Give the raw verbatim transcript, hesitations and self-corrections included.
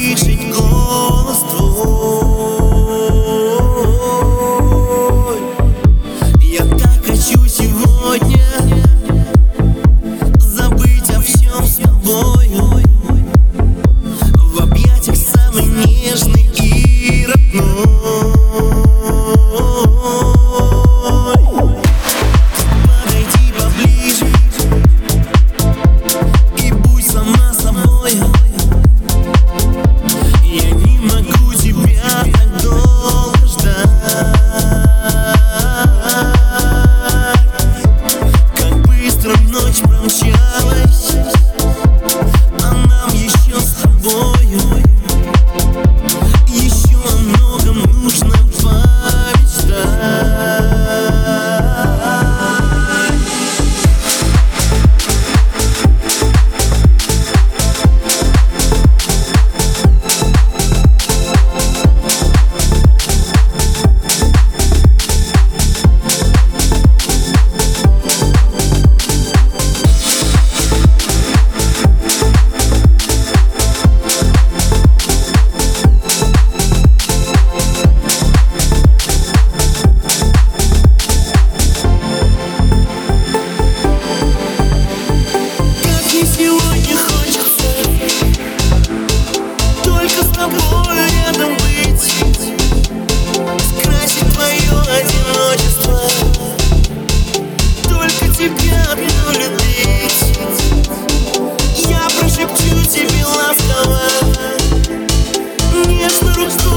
слышать голос твой. Я так хочу сегодня забыть о всем с тобою, в объятиях самый нежный и родной. Подойди поближе и будь сама собою. Я не могу тебя так долго ждать. Как быстро ночь промчалась, а нам еще с тобою еще о многом нужно помечтать. Сегодня хочется только с тобой рядом быть, скрасить твое одиночество, только тебя одну любить. Я прошепчу тебе ласково, нежно руку.